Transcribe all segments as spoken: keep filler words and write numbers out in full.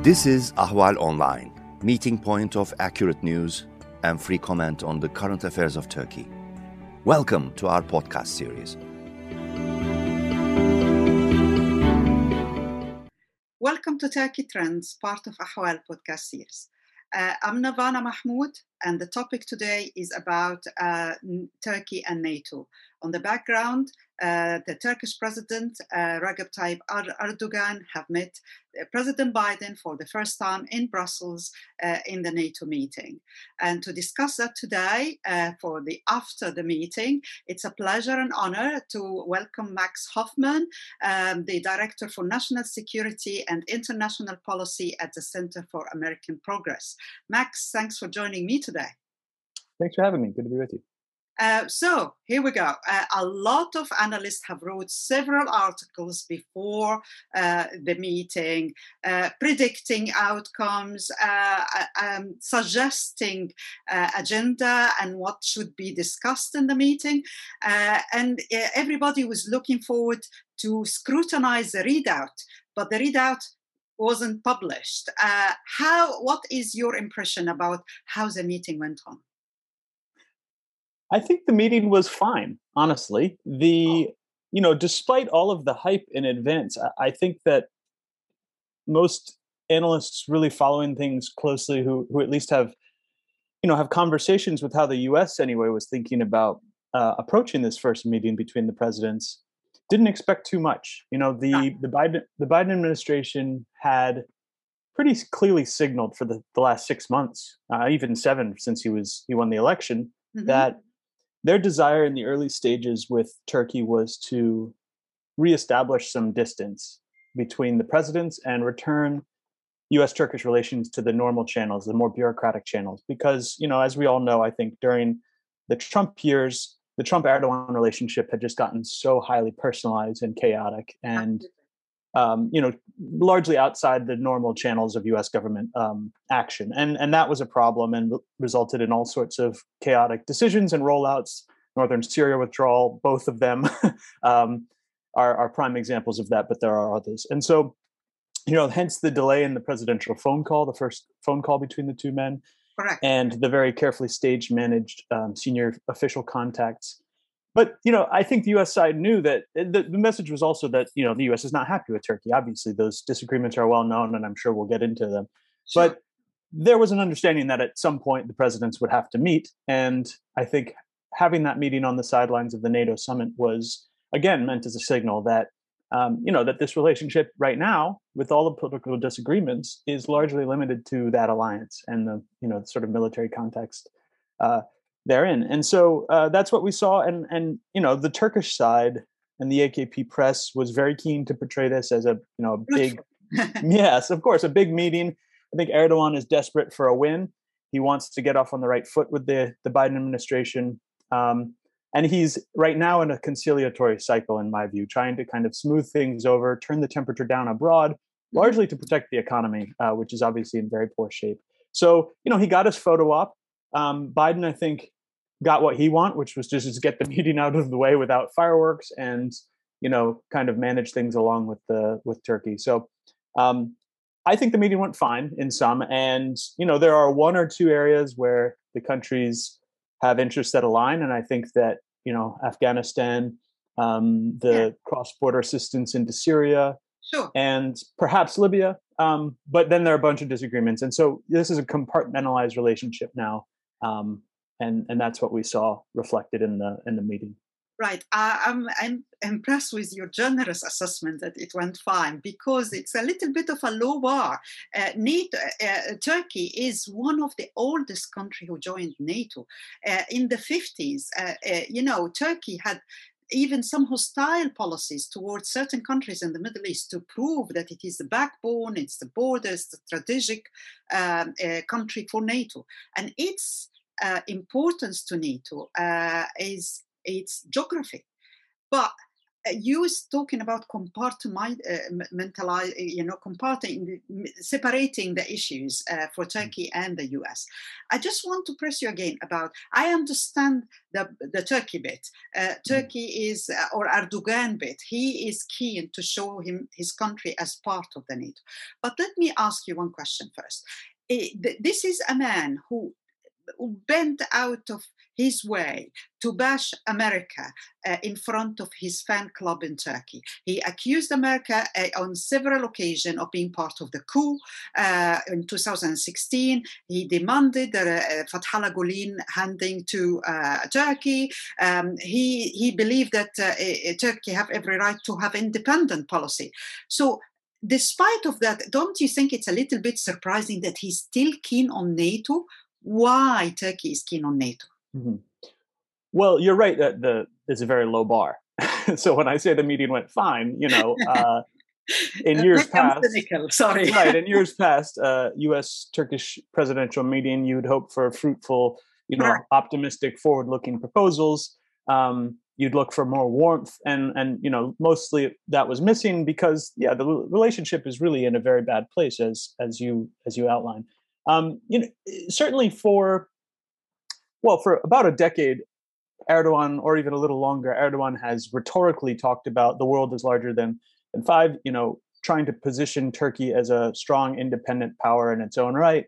This is Ahval Online, meeting point of accurate news and free comment on the current affairs of Turkey. Welcome to our podcast series. Welcome to Turkey Trends, part of Ahval podcast series. Uh, I'm Navana Mahmoud, and the topic today is about uh, Turkey and NATO. On the background, uh, the Turkish President uh, Recep Tayyip Erdogan have met President Biden for the first time in Brussels uh, in the NATO meeting. And to discuss that today, uh, for the after the meeting, it's a pleasure and honor to welcome Max Hoffman, um, the Director for National Security and International Policy at the Center for American Progress. Max, thanks for joining me today. Thanks for having me. Good to be with you. Uh, so here we go. Uh, a lot of analysts have wrote several articles before uh, the meeting, uh, predicting outcomes, uh, um, suggesting uh, agenda and what should be discussed in the meeting. Uh, and uh, everybody was looking forward to scrutinize the readout, but the readout wasn't published. Uh, how? What is your impression about how the meeting went on? I think the meeting was fine, honestly. The, you know, despite all of the hype in advance, I, I think that most analysts really following things closely who who at least have, you know, have conversations with how the U S anyway was thinking about uh, approaching this first meeting between the presidents, didn't expect too much. You know, the the Biden the Biden administration had pretty clearly signaled for the, the last six months, uh, even seven since he was he won the election, mm-hmm. that their desire in the early stages with Turkey was to reestablish some distance between the presidents and return U S-Turkish relations to the normal channels, the more bureaucratic channels. Because, you know, as we all know, I think during the Trump years, the Trump-Erdogan relationship had just gotten so highly personalized and chaotic and, um, you know, largely outside the normal channels of U S government um, action. And, and that was a problem and re- resulted in all sorts of chaotic decisions and rollouts. Northern Syria withdrawal, both of them um, are, are prime examples of that, but there are others. And so, you know, hence the delay in the presidential phone call, the first phone call between the two men. Correct. And the very carefully staged, managed um, senior official contacts. But, you know, I think the U S side knew that the, the message was also that, you know, the U S is not happy with Turkey. Obviously, those disagreements are well known, and I'm sure we'll get into them. Sure. But there was an understanding that at some point the presidents would have to meet. And I think having that meeting on the sidelines of the NATO summit was, again, meant as a signal that, um, you know, that this relationship right now, with all the political disagreements, is largely limited to that alliance and the, you know, sort of military context uh, therein. And so uh, that's what we saw. And, and, you know, the Turkish side and the A K P press was very keen to portray this as a, you know, a big, yes, of course, a big meeting. I think Erdogan is desperate for a win. He wants to get off on the right foot with the, the Biden administration. Um, and he's right now in a conciliatory cycle, in my view, trying to kind of smooth things over, turn the temperature down abroad, mm-hmm. largely to protect the economy, uh, which is obviously in very poor shape. So, you know, he got his photo op. Um, Biden, I think, got what he wanted, which was just to get the meeting out of the way without fireworks and, you know, kind of manage things along with the with Turkey. So um, I think the meeting went fine in some. And, you know, there are one or two areas where the countries have interests that align. And I think that, you know, Afghanistan, um, the yeah. cross-border assistance into Syria, sure. and perhaps Libya. Um, but then there are a bunch of disagreements. And so this is a compartmentalized relationship now. Um, and, and that's what we saw reflected in the in the meeting. Right. Uh, I'm, I'm impressed with your generous assessment that it went fine, because it's a little bit of a low bar. Uh, NATO, uh, Turkey is one of the oldest countries who joined NATO. Uh, in the fifties, uh, uh, you know, Turkey had even some hostile policies towards certain countries in the Middle East to prove that it is the backbone, it's the borders, the strategic um, uh, country for NATO. And its uh, importance to NATO uh, is its geography. But you was talking about compartmentalize, you know, comparting, separating the issues uh, for Turkey and the U S. I just want to press you again about, I understand the, the Turkey bit. Uh, Turkey is, uh, or Erdogan bit, he is keen to show him his country as part of the NATO. But let me ask you one question first. Uh, this is a man who bent out of his way to bash America uh, in front of his fan club in Turkey. He accused America uh, on several occasions of being part of the coup. Uh, in two thousand sixteen, he demanded the uh, Fethullah Gulen handing to uh, Turkey. Um, he, he believed that uh, uh, Turkey have every right to have independent policy. So despite of that, don't you think it's a little bit surprising that he's still keen on NATO? Why Turkey is keen on NATO? Mm-hmm. Well, you're right that the it's a very low bar. So when I say the meeting went fine, you know, uh, in years past, cynical, sorry, right? In years past, uh, U S Turkish presidential meeting, you'd hope for fruitful, you know, right. optimistic, forward-looking proposals. Um, you'd look for more warmth, and and you know, mostly that was missing because, yeah, the relationship is really in a very bad place, as as you as you outlined. Um, you know, certainly for, well, for about a decade, Erdogan, or even a little longer, Erdogan has rhetorically talked about the world is larger than, than five, you know, trying to position Turkey as a strong, independent power in its own right.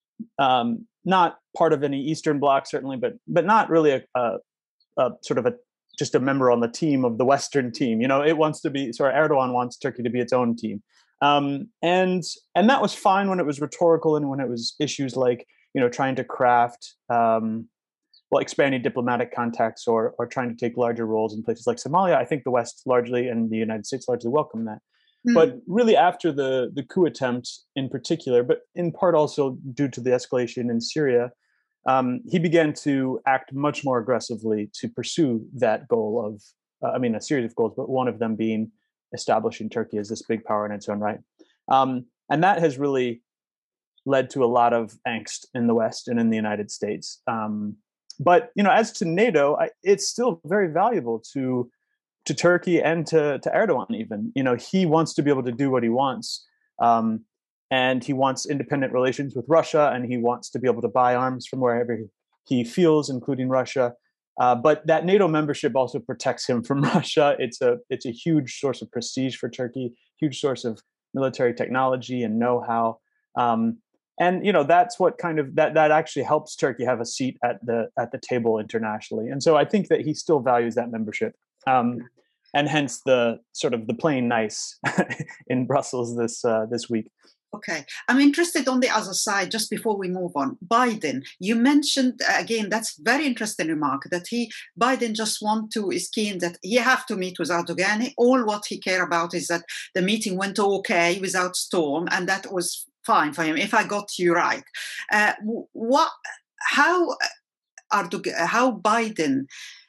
Um, not part of any Eastern Bloc, certainly, but but not really a, a, a sort of a just a member on the team of the Western team. You know, it wants to be, sorry, Erdogan wants Turkey to be its own team. Um, and and that was fine when it was rhetorical and when it was issues like, you know, trying to craft, um, well, expanding diplomatic contacts or or trying to take larger roles in places like Somalia. I think the West largely and the United States largely welcome that. Mm. But really after the, the coup attempt in particular, but in part also due to the escalation in Syria, um, he began to act much more aggressively to pursue that goal of, uh, I mean, a series of goals, but one of them being establishing Turkey as this big power in its own right. Um, and that has really led to a lot of angst in the West and in the United States. Um, but, you know, as to NATO, I, it's still very valuable to to Turkey and to, to Erdogan even. You know, he wants to be able to do what he wants. Um, and he wants independent relations with Russia, and he wants to be able to buy arms from wherever he feels, including Russia. Uh, but that NATO membership also protects him from Russia. It's a it's a huge source of prestige for Turkey, huge source of military technology and know-how. Um, and you know that's what kind of that that actually helps Turkey have a seat at the at the table internationally. And so I think that he still values that membership, um, and hence the sort of the playing nice in Brussels this uh, this week. Okay, I'm interested on the other side, just before we move on. Biden, you mentioned, again, that's very interesting remark, that he, Biden just want to, is keen that he have to meet with Erdogan. All what he care about is that the meeting went okay without storm, and that was fine for him, if I got you right. Uh, what, how, Erdogan, how Biden,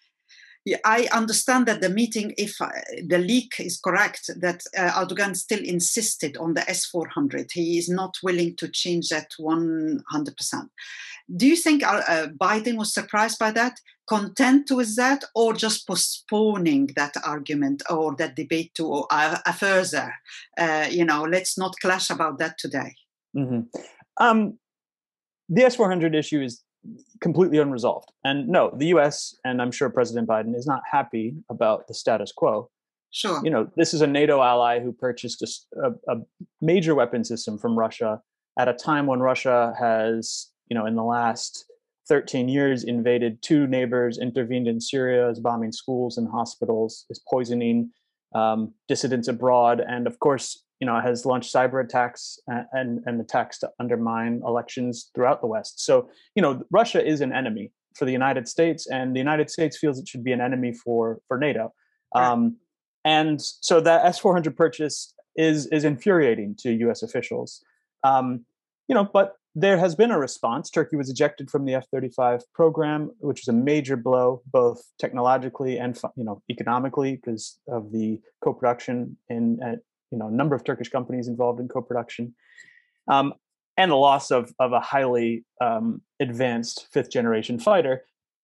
I understand that the meeting, if uh, the leak is correct, that uh, Erdogan still insisted on the S four hundred. He is not willing to change that one hundred percent. Do you think uh, uh, Biden was surprised by that, content with that, or just postponing that argument or that debate to uh, a further, uh, you know, let's not clash about that today? Mm-hmm. Um, the S four hundred issue is completely unresolved. And no, the U S, and I'm sure President Biden, is not happy about the status quo. Sure. You know, this is a NATO ally who purchased a, a, a major weapon system from Russia at a time when Russia has, you know, in the last thirteen years invaded two neighbors, intervened in Syria, is bombing schools and hospitals, is poisoning um, dissidents abroad, and of course, you know, has launched cyber attacks and, and, and attacks to undermine elections throughout the West. So, you know, Russia is an enemy for the United States, and the United States feels it should be an enemy for, for NATO. Right. Um, and so that S four hundred purchase is is infuriating to U S officials. Um, you know, but there has been a response. Turkey was ejected from the F thirty-five program, which is a major blow, both technologically and, you know, economically, because of the co-production in at you know, a number of Turkish companies involved in co-production, um, and the loss of, of a highly um, advanced fifth generation fighter.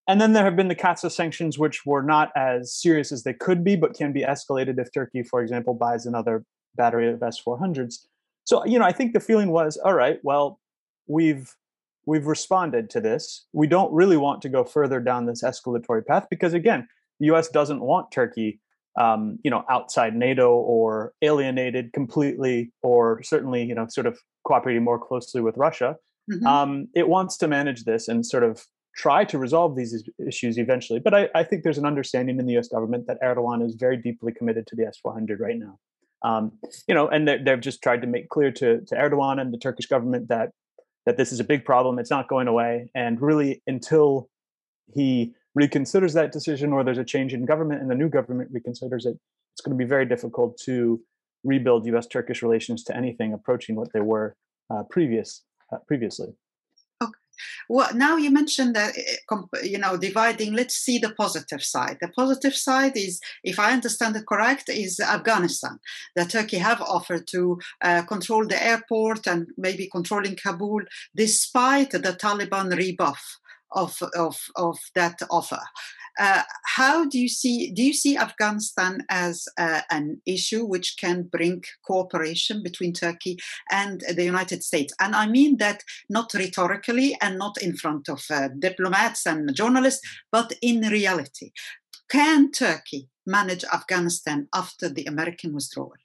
and then there have been the CAATSA sanctions, which were not as serious as they could be, but can be escalated if Turkey, for example, buys another battery of S four hundreds. So, you know, I think the feeling was, all right, well, we've we've responded to this. We don't really want to go further down this escalatory path because, again, the U S doesn't want Turkey, um, you know, outside NATO or alienated completely, or certainly, you know, sort of cooperating more closely with Russia. Mm-hmm. Um, it wants to manage this and sort of try to resolve these issues eventually. But I, I think there's an understanding in the U S government that Erdogan is very deeply committed to the S four hundred right now. Um, you know, and they've just tried to make clear to, to Erdogan and the Turkish government that that this is a big problem. It's not going away. And really, until he reconsiders that decision, or there's a change in government and the new government reconsiders it, it's going to be very difficult to rebuild U S Turkish relations to anything approaching what they were uh, previous uh, previously. Well, now you mentioned that, you know, dividing, let's see the positive side. The positive side is, if I understand it correct, is Afghanistan. That Turkey have offered to uh, control the airport and maybe controlling Kabul, despite the Taliban rebuff of, of, of that offer. Uh, how do you see, do you see Afghanistan as uh, an issue which can bring cooperation between Turkey and the United States? And I mean that not rhetorically and not in front of uh, diplomats and journalists, but in reality. Can Turkey manage Afghanistan after the American withdrawal?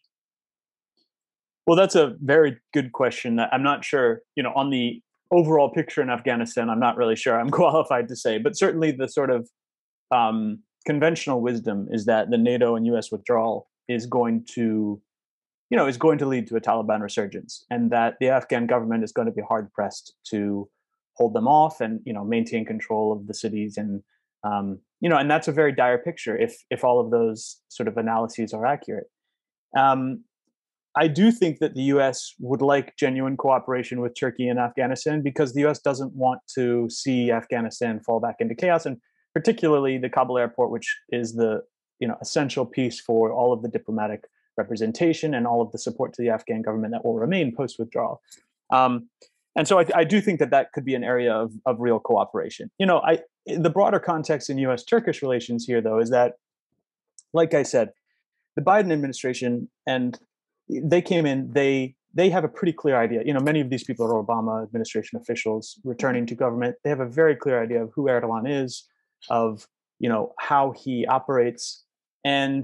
Well, that's a very good question. I'm not sure, you know, on the overall picture in Afghanistan, I'm not really sure I'm qualified to say, but certainly the sort of Um, conventional wisdom is that the NATO and U S withdrawal is going to, you know, is going to lead to a Taliban resurgence, and that the Afghan government is going to be hard pressed to hold them off and, you know, maintain control of the cities. And, um, you know, and that's a very dire picture if if all of those sort of analyses are accurate. Um, I do think that the U S would like genuine cooperation with Turkey and Afghanistan, because the U S doesn't want to see Afghanistan fall back into chaos, and particularly the Kabul airport, which is the, you know, essential piece for all of the diplomatic representation and all of the support to the Afghan government that will remain post-withdrawal. Um, and so I, I do think that that could be an area of, of real cooperation. You know, I the broader context in U S-Turkish relations here, though, is that, like I said, the Biden administration, and they came in, they they have a pretty clear idea. You know, many of these people are Obama administration officials returning to government. They have a very clear idea of who Erdogan is, of, you know, how he operates. And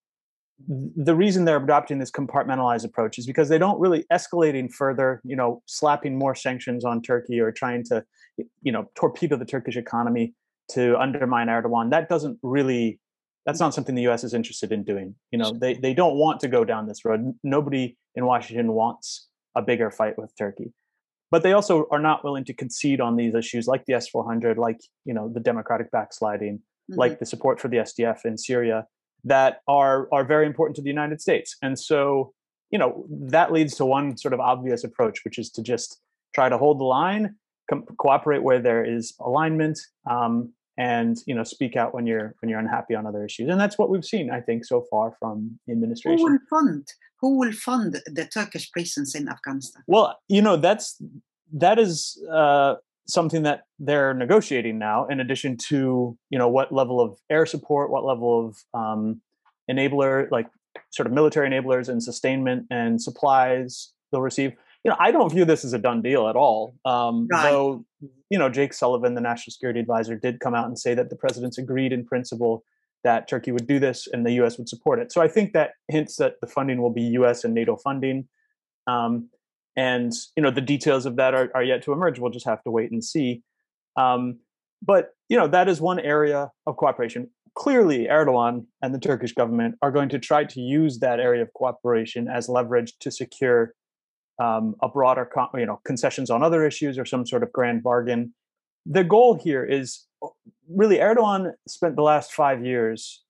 the reason they're adopting this compartmentalized approach is because they don't really escalating further, you know, slapping more sanctions on Turkey or trying to, you know, torpedo the Turkish economy to undermine Erdogan. That doesn't really, that's not something the U S is interested in doing. You know, they, they don't want to go down this road. Nobody in Washington wants a bigger fight with Turkey. But they also are not willing to concede on these issues like the S four hundred, like, you know, the democratic backsliding, mm-hmm. like the support for the S D F in Syria, that are are very important to the United States. And so, you know, that leads to one sort of obvious approach, which is to just try to hold the line, com- cooperate where there is alignment, um, and, you know, speak out when you're when you're unhappy on other issues. And that's what we've seen, I think, so far from the administration. Who will fund? Who will fund the Turkish presence in Afghanistan? Well, you know, that's that is uh, something that they're negotiating now. In addition to, you know, what level of air support, what level of um, enabler, like sort of military enablers and sustainment and supplies they'll receive. You know, I don't view this as a done deal at all. Um, right. Though, you know, Jake Sullivan, the national security advisor, did come out and say that the president's agreed in principle that Turkey would do this and the U S would support it. So I think that hints that the funding will be U S and NATO funding. Um, and, you know, the details of that are, are yet to emerge. We'll just have to wait and see. Um, but, you know, that is one area of cooperation. Clearly, Erdogan and the Turkish government are going to try to use that area of cooperation as leverage to secure um, a broader, con- you know, concessions on other issues or some sort of grand bargain. The goal here is really, Erdogan spent the last five years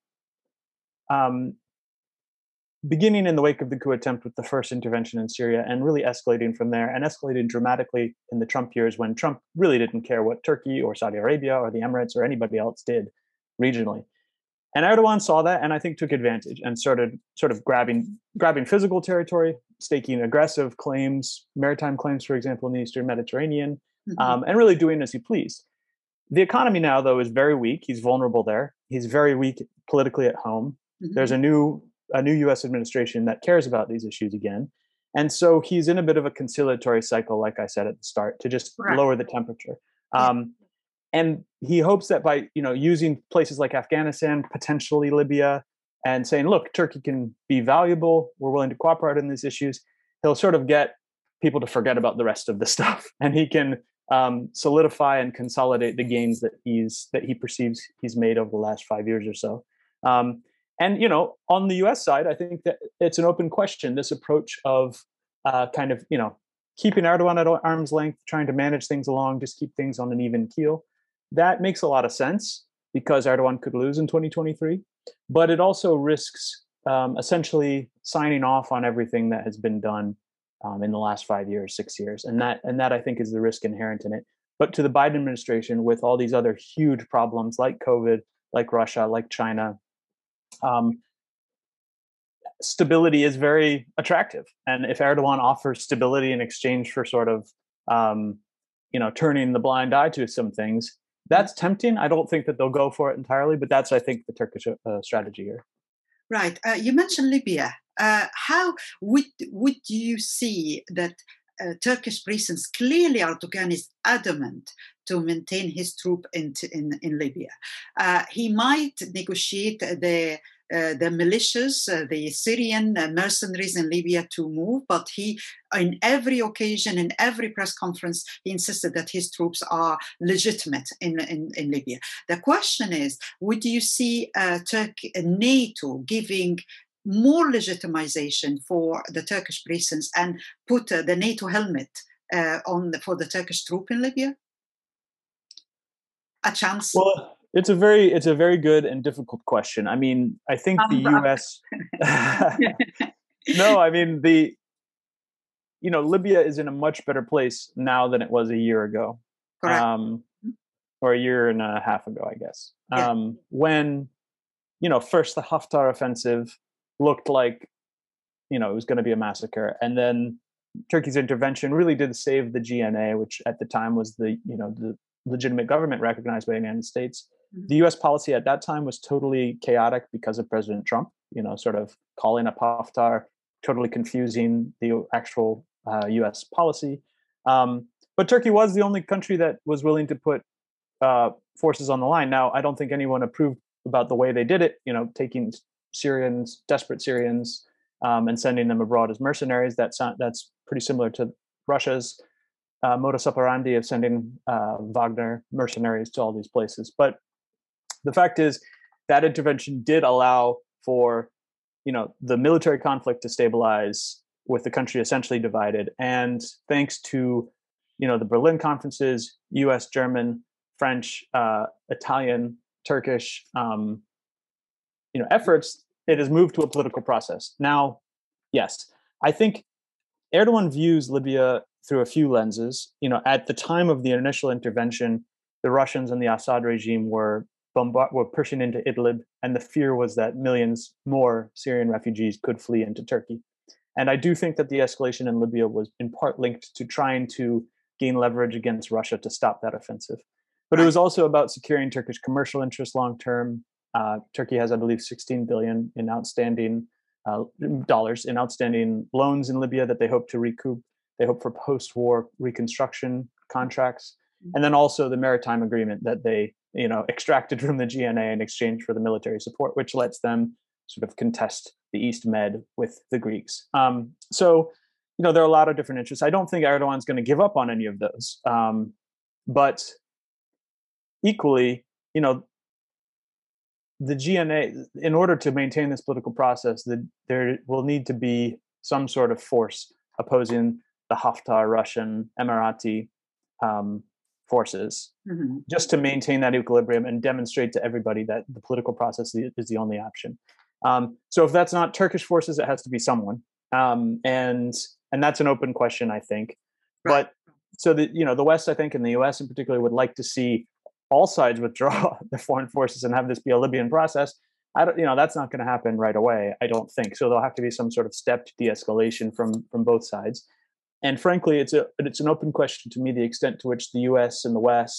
um, beginning in the wake of the coup attempt with the first intervention in Syria and really escalating from there, and escalating dramatically in the Trump years when Trump really didn't care what Turkey or Saudi Arabia or the Emirates or anybody else did regionally. And Erdogan saw that and I think took advantage and started sort of grabbing grabbing physical territory, staking aggressive claims, maritime claims, for example, in the Eastern Mediterranean, mm-hmm. um, and really doing as he pleased. The economy now, though, is very weak. He's vulnerable there. He's very weak politically at home. Mm-hmm. There's a new a new U S administration that cares about these issues again. And so he's in a bit of a conciliatory cycle, like I said at the start, to just right. lower the temperature. Yeah. Um, and he hopes that by, you know, using places like Afghanistan, potentially Libya, and saying, look, Turkey can be valuable, we're willing to cooperate on these issues, he'll sort of get people to forget about the rest of the stuff. And he can um, solidify and consolidate the gains that he's that he perceives he's made over the last five years or so. Um, And, you know, on the U S side, I think that it's an open question, this approach of uh, kind of, you know, keeping Erdogan at arm's length, trying to manage things along, just keep things on an even keel. That makes a lot of sense because Erdogan could lose in twenty twenty-three. But it also risks um, essentially signing off on everything that has been done um, in the last five years, six years. And that, and that, I think, is the risk inherent in it. But to the Biden administration, with all these other huge problems like COVID, like Russia, like China, Um, stability is very attractive, and if Erdogan offers stability in exchange for sort of, um, you know, turning the blind eye to some things, that's tempting. I don't think that they'll go for it entirely, but that's, I think, the Turkish uh, strategy here. Right. Uh, you mentioned Libya. Uh, how would would you see that uh, Turkish presence? Clearly, Erdogan is adamant to maintain his troop in in, in Libya. Uh, he might negotiate the uh, the militias, uh, the Syrian uh, mercenaries in Libya to move, but he, in every occasion, in every press conference, he insisted that his troops are legitimate in, in, in Libya. The question is, would you see uh, Turkey, uh, NATO giving more legitimization for the Turkish presence and put uh, the NATO helmet uh, on the, for the Turkish troop in Libya? A chance? Well, it's a very it's a very good and difficult question. I mean, I think um, the U S No, I mean the you know, Libya is in a much better place now than it was a year ago. Correct. Um, or a year and a half ago, I guess. Yeah. Um, when, you know, first the Haftar offensive looked like, you know, it was going to be a massacre, and then Turkey's intervention really did save the G N A, which at the time was the, you know, the legitimate government recognized by the United States. Mm-hmm. The U S policy at that time was totally chaotic because of President Trump, you know, sort of calling up Haftar, totally confusing the actual uh, U S policy. Um, but Turkey was the only country that was willing to put uh, forces on the line. Now, I don't think anyone approved about the way they did it, you know, taking Syrians, desperate Syrians, um, and sending them abroad as mercenaries. That's, that's pretty similar to Russia's Uh, modus operandi of sending uh, Wagner mercenaries to all these places. But the fact is that intervention did allow for, you know, the military conflict to stabilize with the country essentially divided. And thanks to, you know, the Berlin conferences, U S, German, French, uh, Italian, Turkish, um, you know, efforts, it has moved to a political process. Now, yes, I think Erdogan views Libya through a few lenses. You know, at the time of the initial intervention, the Russians and the Assad regime were bombard- were pushing into Idlib, and the fear was that millions more Syrian refugees could flee into Turkey. And I do think that the escalation in Libya was in part linked to trying to gain leverage against Russia to stop that offensive. But it was also about securing Turkish commercial interests long term. Uh, Turkey has, I believe, sixteen billion in outstanding uh, dollars in outstanding loans in Libya that they hope to recoup. They hope for post-war reconstruction contracts, and then also the maritime agreement that they, you know, extracted from the G N A in exchange for the military support, which lets them sort of contest the East Med with the Greeks. Um, so, you know, there are a lot of different interests. I don't think Erdogan's going to give up on any of those, um, but equally, you know, the G N A, in order to maintain this political process, the, there will need to be some sort of force opposing the Haftar Russian Emirati um, forces, mm-hmm. just to maintain that equilibrium and demonstrate to everybody that the political process is the only option. Um, so if that's not Turkish forces, it has to be someone, um, and and that's an open question, I think. Right. But so the you know the West, I think, and the U S in particular, would like to see all sides withdraw their foreign forces and have this be a Libyan process. I don't, you know, that's not going to happen right away, I don't think. So there'll have to be some sort of stepped de-escalation from from both sides. And frankly, it's a it's an open question to me the extent to which the U S and the West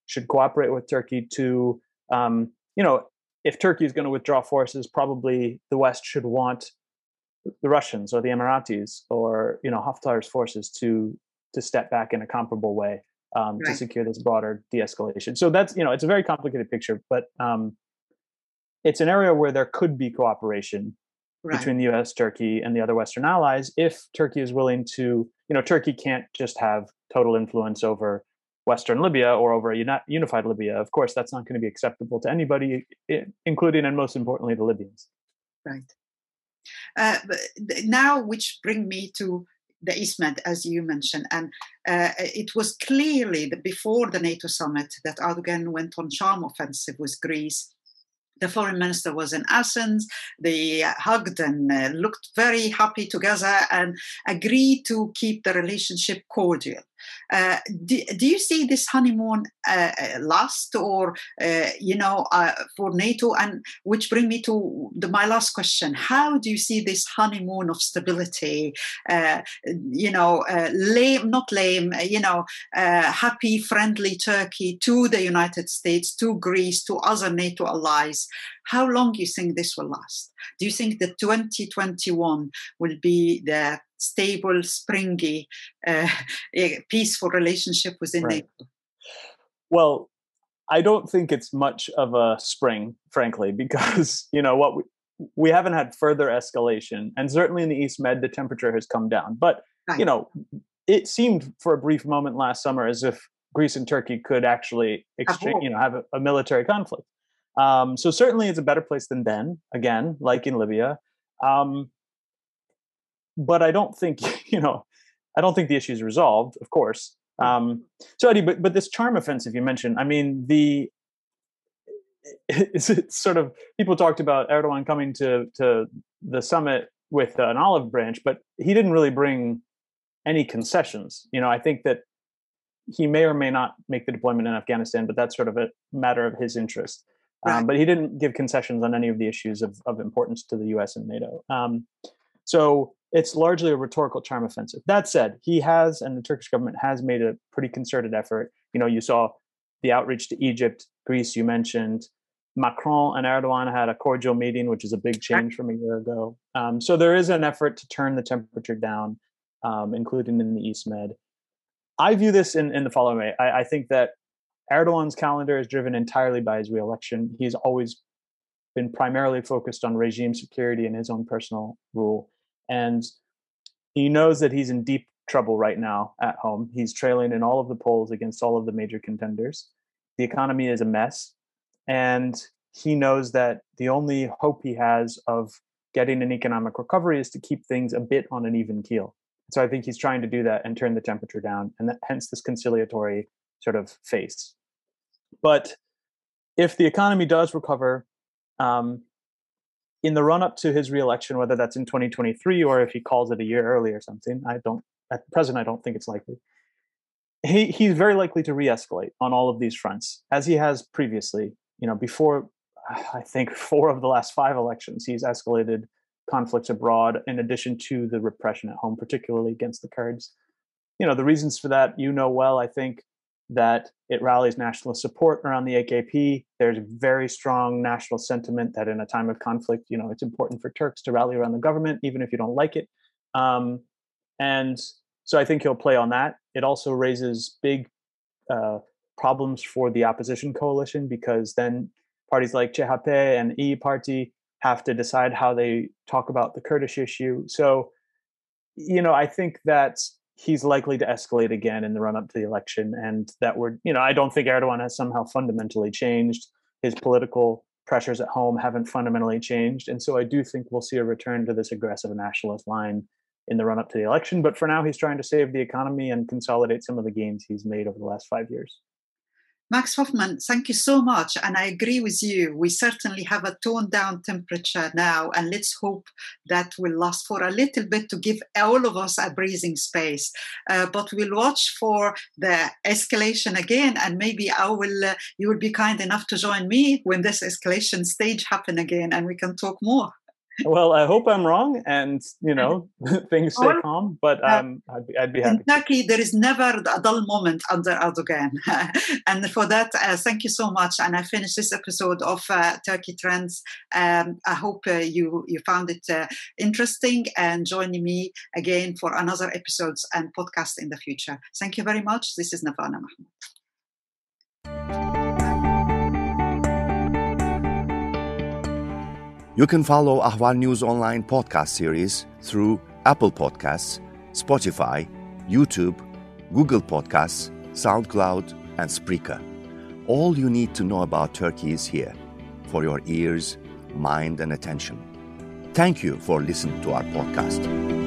should cooperate with Turkey to, um, you know, if Turkey is going to withdraw forces, probably the West should want the Russians or the Emiratis or, you know, Haftar's forces to to step back in a comparable way um, right. to secure this broader de-escalation. So that's, you know, it's a very complicated picture, but um, it's an area where there could be cooperation right. between the U S, Turkey, and the other Western allies if Turkey is willing to, you know, Turkey can't just have total influence over Western Libya or over a uni- unified Libya. Of course, that's not going to be acceptable to anybody, including and most importantly, the Libyans. Right. Uh, now, which bring me to the EastMed, as you mentioned, and uh, it was clearly the, before the NATO summit that Erdogan went on charm offensive with Greece. The foreign minister was in Athens. They hugged and uh, looked very happy together and agreed to keep the relationship cordial. Uh, do, do you see this honeymoon uh, last or, uh, you know, uh, for NATO? And which bring me to the, my last question. How do you see this honeymoon of stability, uh, you know, uh, lame, not lame, you know, uh, happy, friendly Turkey to the United States, to Greece, to other NATO allies? How long do you think this will last? Do you think that twenty twenty-one will be the stable, springy, uh, peaceful relationship within right. NATO? Well, I don't think it's much of a spring, frankly, because, you know, what we, we haven't had further escalation. And certainly in the EastMed, the temperature has come down. But, right. you know, it seemed for a brief moment last summer as if Greece and Turkey could actually exchange, you know, have a, a military conflict. Um, so certainly it's a better place than then, again, like in Libya. Um, but I don't think, you know, I don't think the issue is resolved, of course. Um, so Eddie, but, but this charm offensive you mentioned, I mean, the, it's, it's sort of, people talked about Erdogan coming to, to the summit with an olive branch, but he didn't really bring any concessions. You know, I think that he may or may not make the deployment in Afghanistan, but that's sort of a matter of his interest. Right. Um, but he didn't give concessions on any of the issues of, of importance to the U S and NATO. Um, so it's largely a rhetorical charm offensive. That said, he has, and the Turkish government has made a pretty concerted effort. You know, you saw the outreach to Egypt, Greece, you mentioned. Macron and Erdogan had a cordial meeting, which is a big change from a year ago. Um, so there is an effort to turn the temperature down, um, including in the EastMed. I view this in, in the following way. I, I think that Erdogan's calendar is driven entirely by his reelection. He's always been primarily focused on regime security and his own personal rule. And he knows that he's in deep trouble right now at home. He's trailing in all of the polls against all of the major contenders. The economy is a mess. And he knows that the only hope he has of getting an economic recovery is to keep things a bit on an even keel. So I think he's trying to do that and turn the temperature down, and that, hence this conciliatory sort of face. But if the economy does recover, um, in the run-up to his reelection, whether that's in twenty twenty-three or if he calls it a year early or something, I don't, at present, I don't think it's likely. He he's very likely to re-escalate on all of these fronts, as he has previously. You know, before, I think, four of the last five elections, he's escalated conflicts abroad in addition to the repression at home, particularly against the Kurds. You know, the reasons for that, you know well, I think, that it rallies nationalist support around the A K P. There's very strong national sentiment that in a time of conflict, you know, it's important for Turks to rally around the government, even if you don't like it. Um, and so I think he'll play on that. It also raises big uh, problems for the opposition coalition, because then parties like C H P and İYİ Party have to decide how they talk about the Kurdish issue. So, you know, I think that he's likely to escalate again in the run-up to the election, and that we're, you know, I don't think Erdogan has somehow fundamentally changed. His political pressures at home haven't fundamentally changed. And so I do think we'll see a return to this aggressive nationalist line in the run-up to the election. But for now, he's trying to save the economy and consolidate some of the gains he's made over the last five years. Max Hoffman, thank you so much. And I agree with you. We certainly have a toned down temperature now, and let's hope that will last for a little bit to give all of us a breathing space. Uh, but we'll watch for the escalation again, and maybe I will, uh, you will be kind enough to join me when this escalation stage happen again, and we can talk more. Well, I hope I'm wrong, and you know things stay well, calm. But um, I'd, be, I'd be happy. In Turkey, there is never a dull moment under Erdogan, and for that, uh, thank you so much. And I finished this episode of uh, Turkey Trends. Um, I hope uh, you you found it uh, interesting, and joining me again for another episodes and podcast in the future. Thank you very much. This is Navana Mahmoud. You can follow Ahval News Online podcast series through Apple Podcasts, Spotify, YouTube, Google Podcasts, SoundCloud, and Spreaker. All you need to know about Turkey is here for your ears, mind, and attention. Thank you for listening to our podcast.